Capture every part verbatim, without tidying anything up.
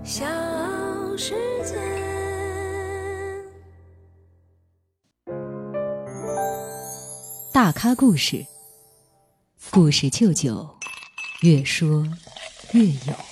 小世界。 大咖故事，故事舅舅，越说越有。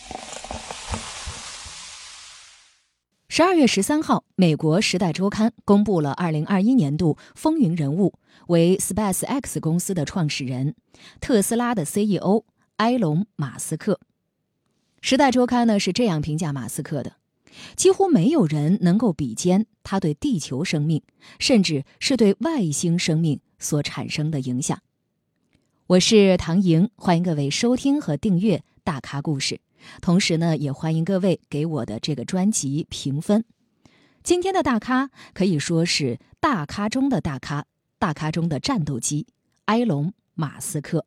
十二月十三号，美国《时代周刊》公布了二零二一年度风云人物，为 SpaceX 公司的创始人、特斯拉的 C E O 埃隆·马斯克。《时代周刊》呢是这样评价马斯克的：几乎没有人能够比肩他对地球生命，甚至是对外星生命所产生的影响。我是唐莹，欢迎各位收听和订阅大咖故事，同时呢，也欢迎各位给我的这个专辑评分。今天的大咖可以说是大咖中的大咖，大咖中的战斗机——埃隆·马斯克。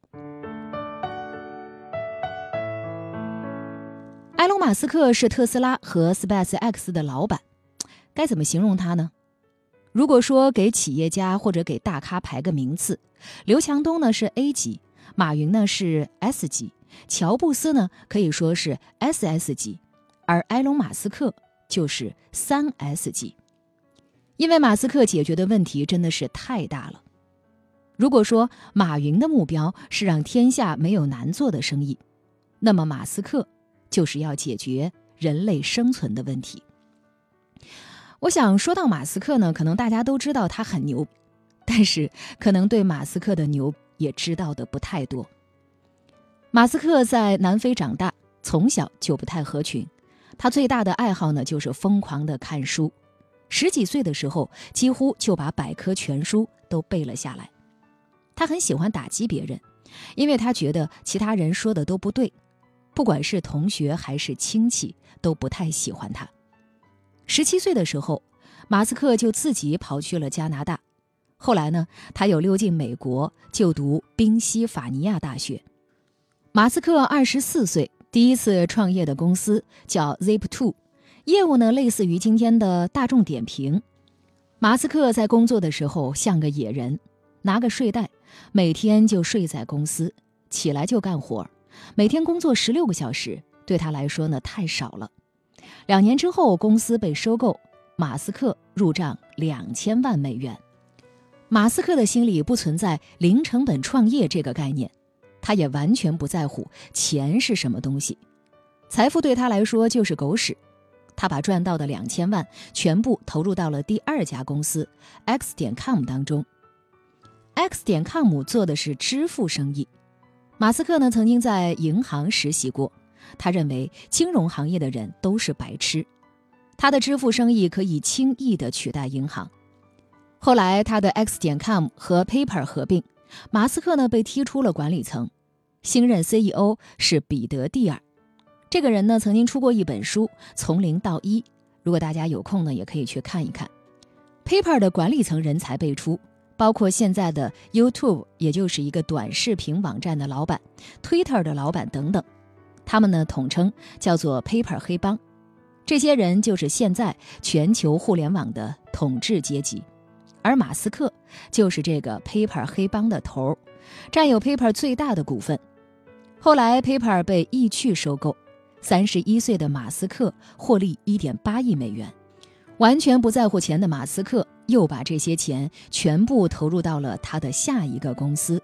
埃隆·马斯克是特斯拉和 SpaceX 的老板，该怎么形容他呢？如果说给企业家或者给大咖排个名次，刘强东呢是 A 级，马云呢是 S 级，乔布斯呢可以说是 S S 级，而埃隆·马斯克就是三 S 级。因为马斯克解决的问题真的是太大了。如果说马云的目标是让天下没有难做的生意，那么马斯克就是要解决人类生存的问题。我想说到马斯克呢，可能大家都知道他很牛，但是可能对马斯克的牛也知道的不太多。马斯克在南非长大，从小就不太合群，他最大的爱好呢就是疯狂的看书。十几岁的时候，几乎就把百科全书都背了下来。他很喜欢打击别人，因为他觉得其他人说的都不对，不管是同学还是亲戚都不太喜欢他。十七岁的时候，马斯克就自己跑去了加拿大。后来呢，他又溜进美国就读宾夕法尼亚大学。马斯克二十四岁，第一次创业的公司叫 Zip 二， 业务呢类似于今天的大众点评。马斯克在工作的时候像个野人，拿个睡袋，每天就睡在公司，起来就干活，每天工作十六个小时，对他来说呢太少了。两年之后，公司被收购，马斯克入账两千万美元。马斯克的心里不存在零成本创业这个概念，他也完全不在乎钱是什么东西，财富对他来说就是狗屎。他把赚到的两千万全部投入到了第二家公司 X 点 com 当中。X 点 com 做的是支付生意。马斯克呢曾经在银行实习过，他认为金融行业的人都是白痴，他的支付生意可以轻易地取代银行。后来他的 X 点 com 和 PayPal 合并，马斯克呢被踢出了管理层，新任 C E O 是彼得蒂尔。这个人呢曾经出过一本书《从零到一》，如果大家有空呢也可以去看一看。PayPal 的管理层人才辈出，包括现在的 YouTube， 也就是一个短视频网站的老板， Twitter 的老板等等。他们呢统称叫做 PayPal 黑帮，这些人就是现在全球互联网的统治阶级，而马斯克就是这个 PayPal 黑帮的头，占有 PayPal 最大的股份。后来 PayPal 被易趣收购，三十一岁的马斯克获利 一点八亿美元。完全不在乎钱的马斯克又把这些钱全部投入到了他的下一个公司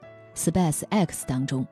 SpaceX 当中。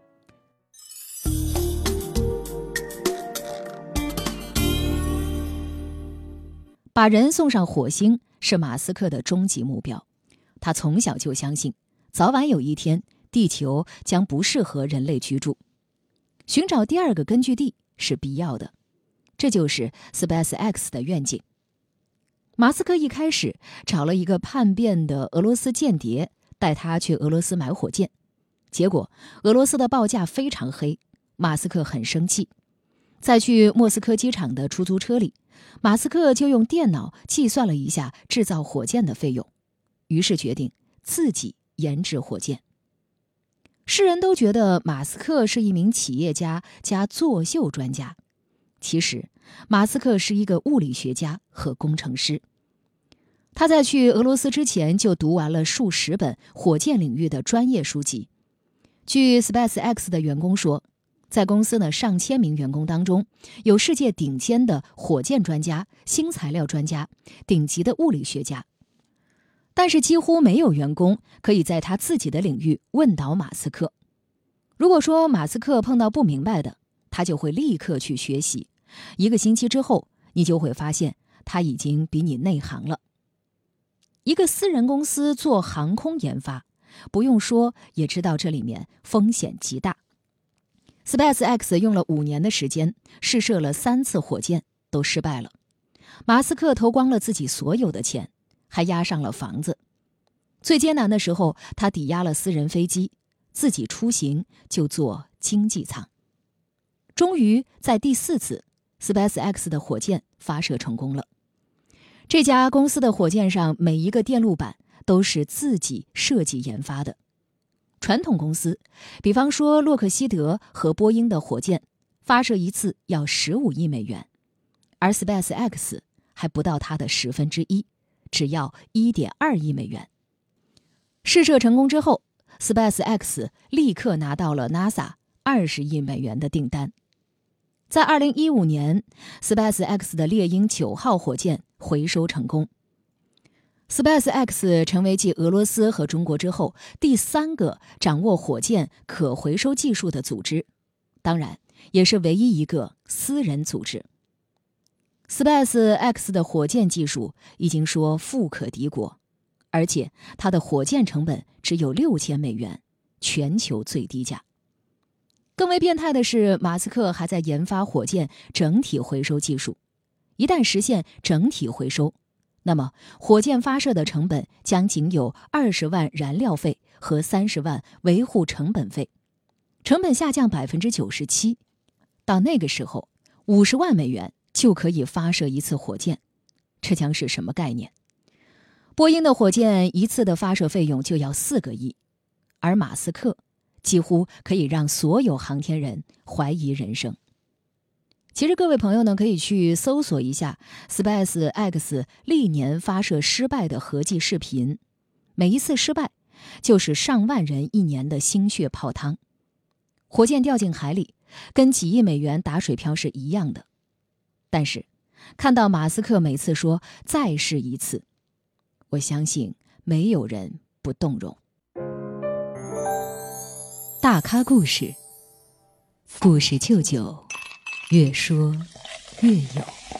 把人送上火星是马斯克的终极目标，他从小就相信，早晚有一天，地球将不适合人类居住，寻找第二个根据地是必要的，这就是 SpaceX 的愿景。马斯克一开始找了一个叛变的俄罗斯间谍，带他去俄罗斯买火箭，结果俄罗斯的报价非常黑，马斯克很生气。在去莫斯科机场的出租车里，马斯克就用电脑计算了一下制造火箭的费用，于是决定自己研制火箭。世人都觉得马斯克是一名企业家加作秀专家，其实马斯克是一个物理学家和工程师。他在去俄罗斯之前就读完了数十本火箭领域的专业书籍。据 SpaceX 的员工说， 在公司呢上千名员工当中，有世界顶尖的火箭专家、新材料专家、顶级的物理学家，但是几乎没有员工可以在他自己的领域问倒马斯克。如果说马斯克碰到不明白的，他就会立刻去学习，一个星期之后，你就会发现他已经比你内行了。一个私人公司做航空研发，不用说也知道这里面风险极大。SpaceX 用了五年的时间，试射了三次火箭，都失败了。马斯克投光了自己所有的钱，还押上了房子。最艰难的时候，他抵押了私人飞机，自己出行就坐经济舱。终于在第四次 SpaceX 的火箭发射成功了。这家公司的火箭上每一个电路板都是自己设计研发的。传统公司，比方说洛克希德和波音的火箭，发射一次要十五亿美元，而 SpaceX 还不到它的十分之一，只要 一点二亿美元。试射成功之后， SpaceX 立刻拿到了 NASA 二十亿美元的订单。在二零一五年 SpaceX 的猎鹰九号火箭回收成功。SpaceX 成为继俄罗斯和中国之后第三个掌握火箭可回收技术的组织，当然也是唯一一个私人组织。SpaceX 的火箭技术已经说富可敌国，而且它的火箭成本只有六千美元，全球最低价。更为变态的是，马斯克还在研发火箭整体回收技术。一旦实现整体回收，那么火箭发射的成本将仅有二十万燃料费和三十万维护成本费，成本下降百分之九十七。到那个时候，五十万美元就可以发射一次火箭，这将是什么概念？波音的火箭一次的发射费用就要四个亿，而马斯克几乎可以让所有航天人怀疑人生。其实各位朋友呢，可以去搜索一下 SpaceX 历年发射失败的合计视频，每一次失败就是上万人一年的心血泡汤。火箭掉进海里，跟几亿美元打水漂是一样的。但是看到马斯克每次说再试一次，我相信没有人不动容。大咖故事，故事舅舅越说越有。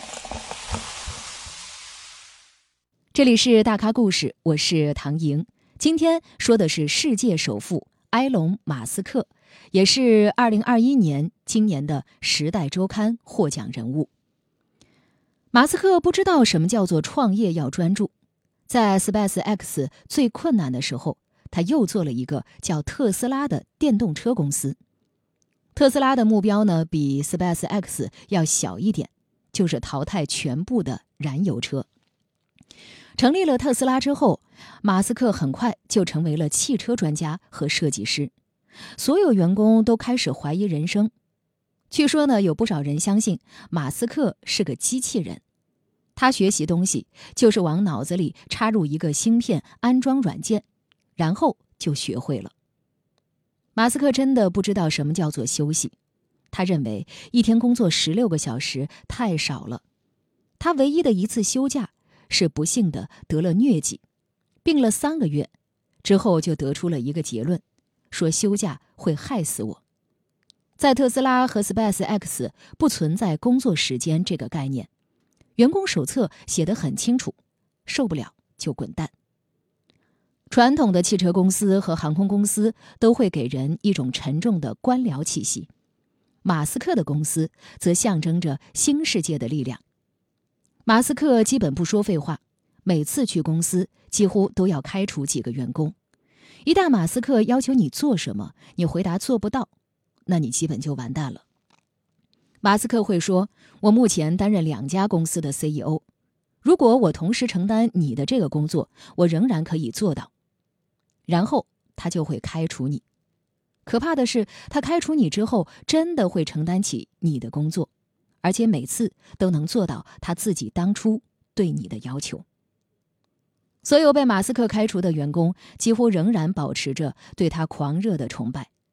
这里是大咖故事，我是唐莹。今天说的是世界首富埃隆·马斯克，也是二零二一年今年的《时代周刊》获奖人物。马斯克不知道什么叫做创业要专注，在 SpaceX 最困难的时候，他又做了一个叫特斯拉的电动车公司。特斯拉的目标呢，比 SpaceX 要小一点，就是淘汰全部的燃油车。成立了特斯拉之后，马斯克很快就成为了汽车专家和设计师，所有员工都开始怀疑人生。据说呢，有不少人相信马斯克是个机器人，他学习东西就是往脑子里插入一个芯片，安装软件，然后就学会了。马斯克真的不知道什么叫做休息，他认为一天工作十六个小时太少了。他唯一的一次休假是不幸的得了疟疾，病了三个月，之后就得出了一个结论，说休假会害死我。在特斯拉和 SpaceX 不存在工作时间这个概念，员工手册写得很清楚，受不了就滚蛋。传统的汽车公司和航空公司都会给人一种沉重的官僚气息，马斯克的公司则象征着新世界的力量。马斯克基本不说废话，每次去公司几乎都要开除几个员工。一旦马斯克要求你做什么，你回答做不到，那你基本就完蛋了。马斯克会说，我目前担任两家公司的 C E O， 如果我同时承担你的这个工作，我仍然可以做到。然后他就会开除你。可怕的是，他开除你之后，真的会承担起你的工作，而且每次都能做到他自己当初对你的要求。所有被马斯克开除的员工几乎仍然保持着对他狂热的崇拜。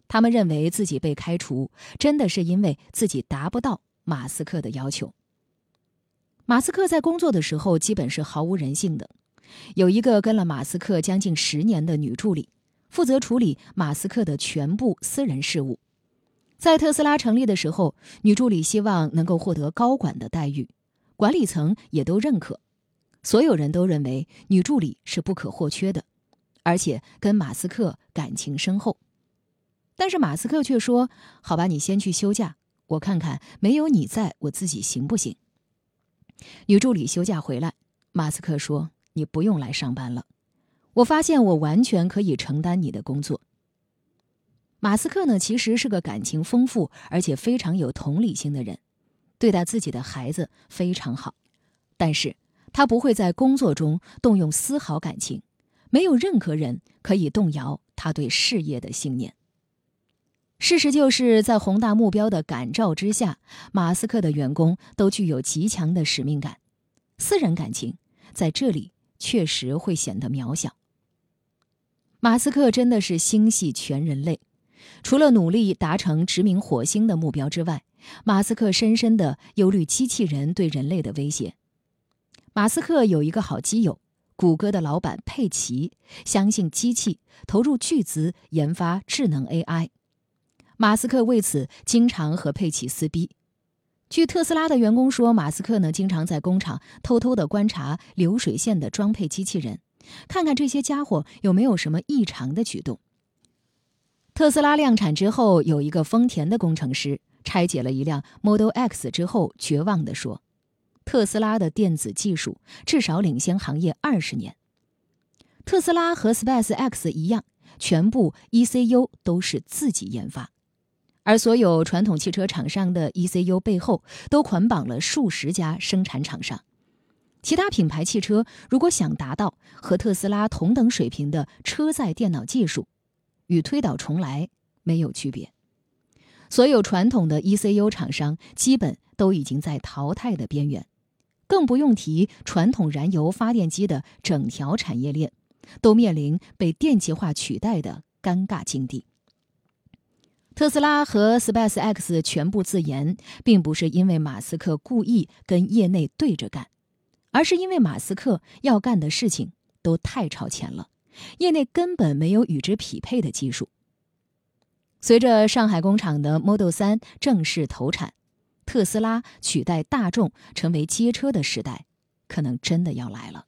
他们认为自己被开除，真的是因为自己达不到马斯克的要求。马斯克在工作的时候基本是毫无人性的。有一个跟了马斯克将近十年的女助理，负责处理马斯克的全部私人事务。在特斯拉成立的时候，女助理希望能够获得高管的待遇，管理层也都认可。所有人都认为女助理是不可或缺的，而且跟马斯克感情深厚。但是马斯克却说，好吧，你先去休假，我看看没有你在我自己行不行。女助理休假回来，马斯克说，你不用来上班了，我发现我完全可以承担你的工作。马斯克呢，其实是个感情丰富而且非常有同理心的人，对待自己的孩子非常好，但是他不会在工作中动用丝毫感情，没有任何人可以动摇他对事业的信念。事实就是在宏大目标的感召之下，马斯克的员工都具有极强的使命感，私人感情在这里确实会显得渺小。马斯克真的是心系全人类，除了努力达成殖民火星的目标之外，马斯克深深地忧虑机器人对人类的威胁。马斯克有一个好基友，谷歌的老板佩奇，相信机器，投入巨资研发智能 A I。马斯克为此经常和佩奇撕逼。据特斯拉的员工说，马斯克呢经常在工厂偷偷地观察流水线的装配机器人，看看这些家伙有没有什么异常的举动。特斯拉量产之后，有一个丰田的工程师拆解了一辆 Model X 之后，绝望地说，特斯拉的电子技术至少领先行业二十年。特斯拉和 SpaceX 一样，全部 E C U 都是自己研发，而所有传统汽车厂商的 E C U 背后都捆绑了数十家生产厂商。其他品牌汽车如果想达到和特斯拉同等水平的车载电脑技术，与推倒重来没有区别。所有传统的 E C U 厂商基本都已经在淘汰的边缘，更不用提传统燃油发电机的整条产业链都面临被电气化取代的尴尬境地。特斯拉和 SpaceX 全部自研，并不是因为马斯克故意跟业内对着干，而是因为马斯克要干的事情都太超前了，业内根本没有与之匹配的技术。随着上海工厂的 Model 三正式投产，特斯拉取代大众成为街车的时代，可能真的要来了。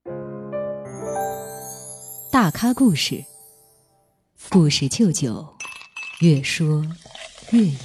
大咖故事，故事舅舅，越说越有。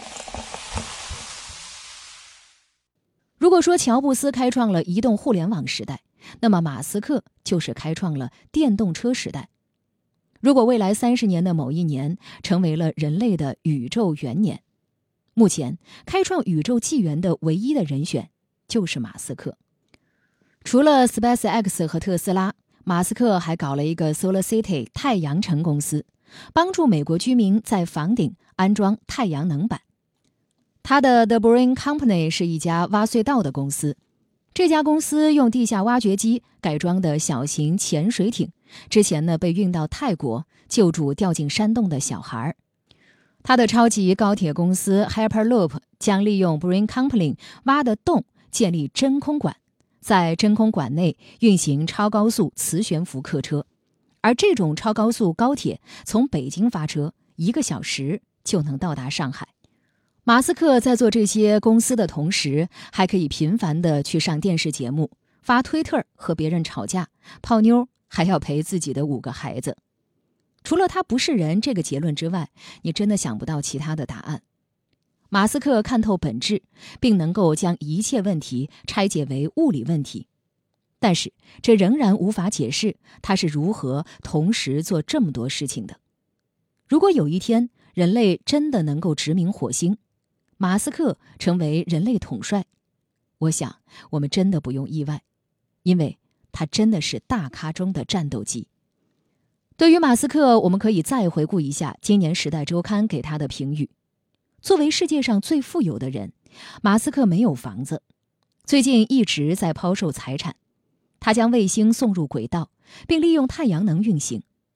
如果说乔布斯开创了移动互联网时代，那么马斯克就是开创了电动车时代。如果未来三十年的某一年成为了人类的宇宙元年，目前开创宇宙纪元的唯一的人选就是马斯克。除了 SpaceX 和特斯拉，马斯克还搞了一个 Solar City 太阳城公司，帮助美国居民在房顶安装太阳能板。他的 The Boring Company 是一家挖隧道的公司，这家公司用地下挖掘机改装的小型潜水艇，之前呢被运到泰国救助掉进山洞的小孩。他的超级高铁公司 Hyperloop 将利用 Boring Company 挖的洞建立真空管，在真空管内运行超高速磁悬浮客车，而这种超高速高铁从北京发车，一个小时就能到达上海。马斯克在做这些公司的同时，还可以频繁地去上电视节目，发推特和别人吵架、泡妞，还要陪自己的五个孩子。除了他不是人这个结论之外，你真的想不到其他的答案。马斯克看透本质，并能够将一切问题拆解为物理问题，但是这仍然无法解释他是如何同时做这么多事情的。如果有一天人类真的能够殖民火星，马斯克成为人类统帅，我想我们真的不用意外，因为他真的是大咖中的战斗机。对于马斯克，我们可以再回顾一下今年《时代周刊》给他的评语。作为世界上最富有的人，马斯克没有房子，最近一直在抛售财产。他将卫星送入轨道，并利用太阳能运行。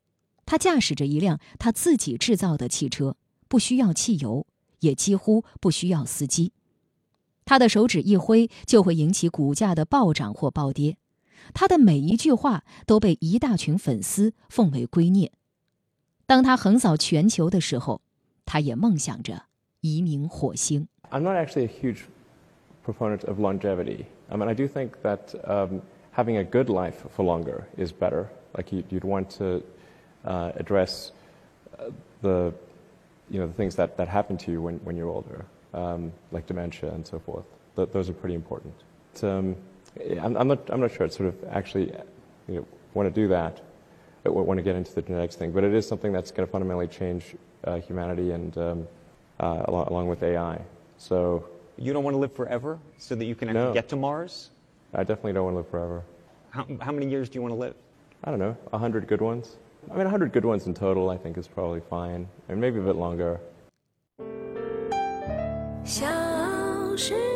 他驾驶着一辆他自己制造的汽车，不需要汽油，也几乎不需要司机。他的手指一挥，就会引起股价的暴涨或暴跌。他的每一句话都被一大群粉丝奉为圭臬。当他横扫全球的时候，他也梦想着移民火星。 I'm not actually a huge proponent of longevity. I mean, I do think that um, having a good life for longer is better. Like you, you'd want to uh, address uh, the, you know, the things that, that happen to you when, when you're older, um, like dementia and so forth. Th- those are pretty important. Um, I'm, I'm not, I'm not sure. It's sort of actually, you know, want to do that. I want to get into the genetics thing, but it is something that's going to fundamentally change uh, humanity and um, uh, along, along with A I. So you don't want to live forever so that you can actually no. get to Mars? I definitely don't want to live forever. How, how many years do you want to live? I don't know, a hundred good ones. I mean, a hundred good ones in total, I think, is probably fine, and maybe a bit longer. 小时